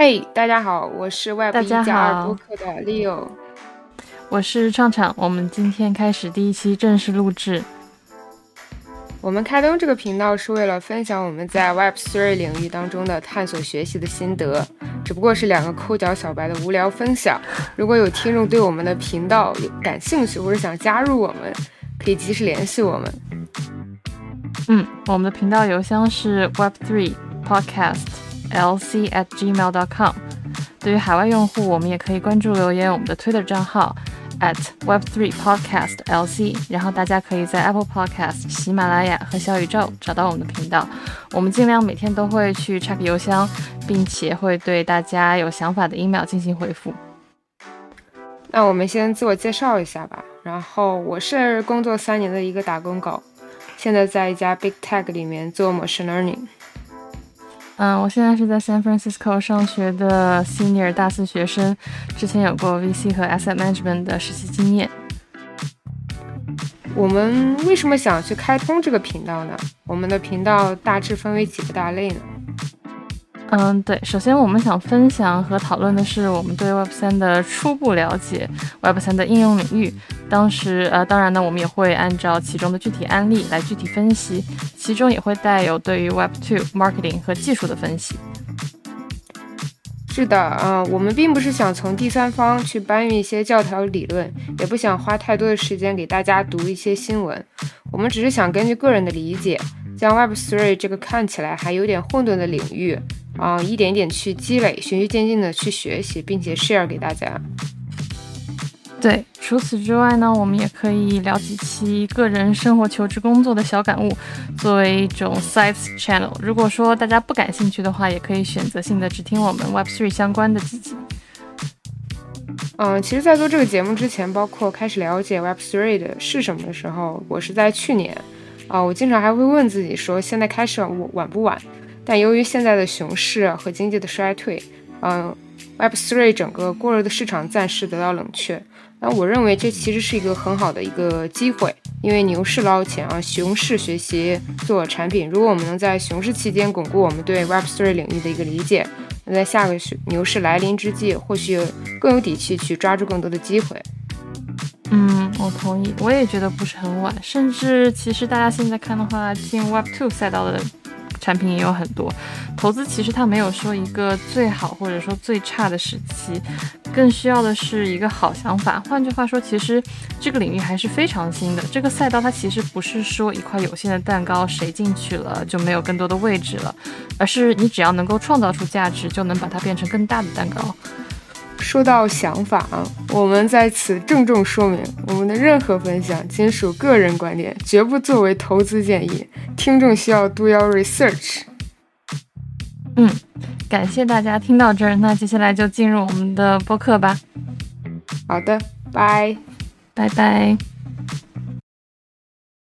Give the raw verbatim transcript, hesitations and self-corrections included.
嘿、hey, 大家好，我是 Web 一加二播客的 Leo， 我是畅畅，我们今天开始第一期正式录制。 我们开通这个频道是为了分享我们在 Web 三 领域当中的探索学习的心得，只不过是两个抠脚小白的无聊分享。如果有听众对我们的频道有感兴趣或者想加入我们，可以及时联系我们。 嗯，我们的频道邮箱是 web 三 podcast l c at gmail dot com。 对于海外用户，我们也可以关注留言我们的 Twitter 账号 at web 三 podcast l c， 然后大家可以在 Apple Podcast、 喜马拉雅和小宇宙找到我们的频道。我们尽量每天都会去 check 邮箱，并且会对大家有想法的 email 进行回复。 那我们先自我介绍一下吧。然后我是工作三年的一个打工狗，现在在一家 Big Tech 里面做 Machine Learning。 嗯，我现在是在 San Francisco 上学的 Senior 大四学生，之前有过 V C 和 Asset Management 的实习经验。 我们为什么想去开通这个频道呢？我们的频道大致分为几个大类呢？ 嗯，对，首先我们想分享和讨论的是我们对 Web 三 的初步了解， Web 三 的应用领域。当时呃，当然呢，我们也会按照其中的具体案例来具体分析，其中也会带有对于 Web 二 marketing 和技术的分析。 是的，呃，我们并不是想从第三方去搬运一些教条理论，也不想花太多的时间给大家读一些新闻，我们只是想根据个人的理解，将 Web 三 这个看起来还有点混沌的领域啊、呃，一点一点去积累，循序渐进的去学习，并且 share 给大家。 对，除此之外呢，我们也可以聊几期个人生活、求职、工作的小感悟，作为一种 side channel。如果说大家不感兴趣的话，也可以选择性的只听我们 Web 三 相关的几集。 嗯，其实在做这个节目之前，包括开始了解 Web 三 的是什么的时候，我是在去年啊、呃，我经常还会问自己说，现在开始晚不晚？但由于现在的熊市和经济的衰退，嗯、呃、，Web 三 整个过热的市场暂时得到冷却。那我认为这其实是一个很好的一个机会，因为牛市捞钱啊，熊市学习做产品。如果我们能在熊市期间巩固我们对 Web 三 领域的一个理解，那在下个牛市来临之际，或许更有底气去抓住更多的机会。 嗯，我同意，我也觉得不是很晚，甚至其实大家现在看的话，进 Web 二 赛道的产品也有很多。投资其实它没有说一个最好或者说最差的时期，更需要的是一个好想法。换句话说，其实这个领域还是非常新的，这个赛道它其实不是说一块有限的蛋糕，谁进去了就没有更多的位置了，而是你只要能够创造出价值，就能把它变成更大的蛋糕。 说到想法啊，我们在此郑重说明，我们的任何分享仅属个人观点，绝不作为投资建议，听众需要 do your research。 嗯，感谢大家听到这儿，那接下来就进入我们的播客吧。 好的，拜拜拜。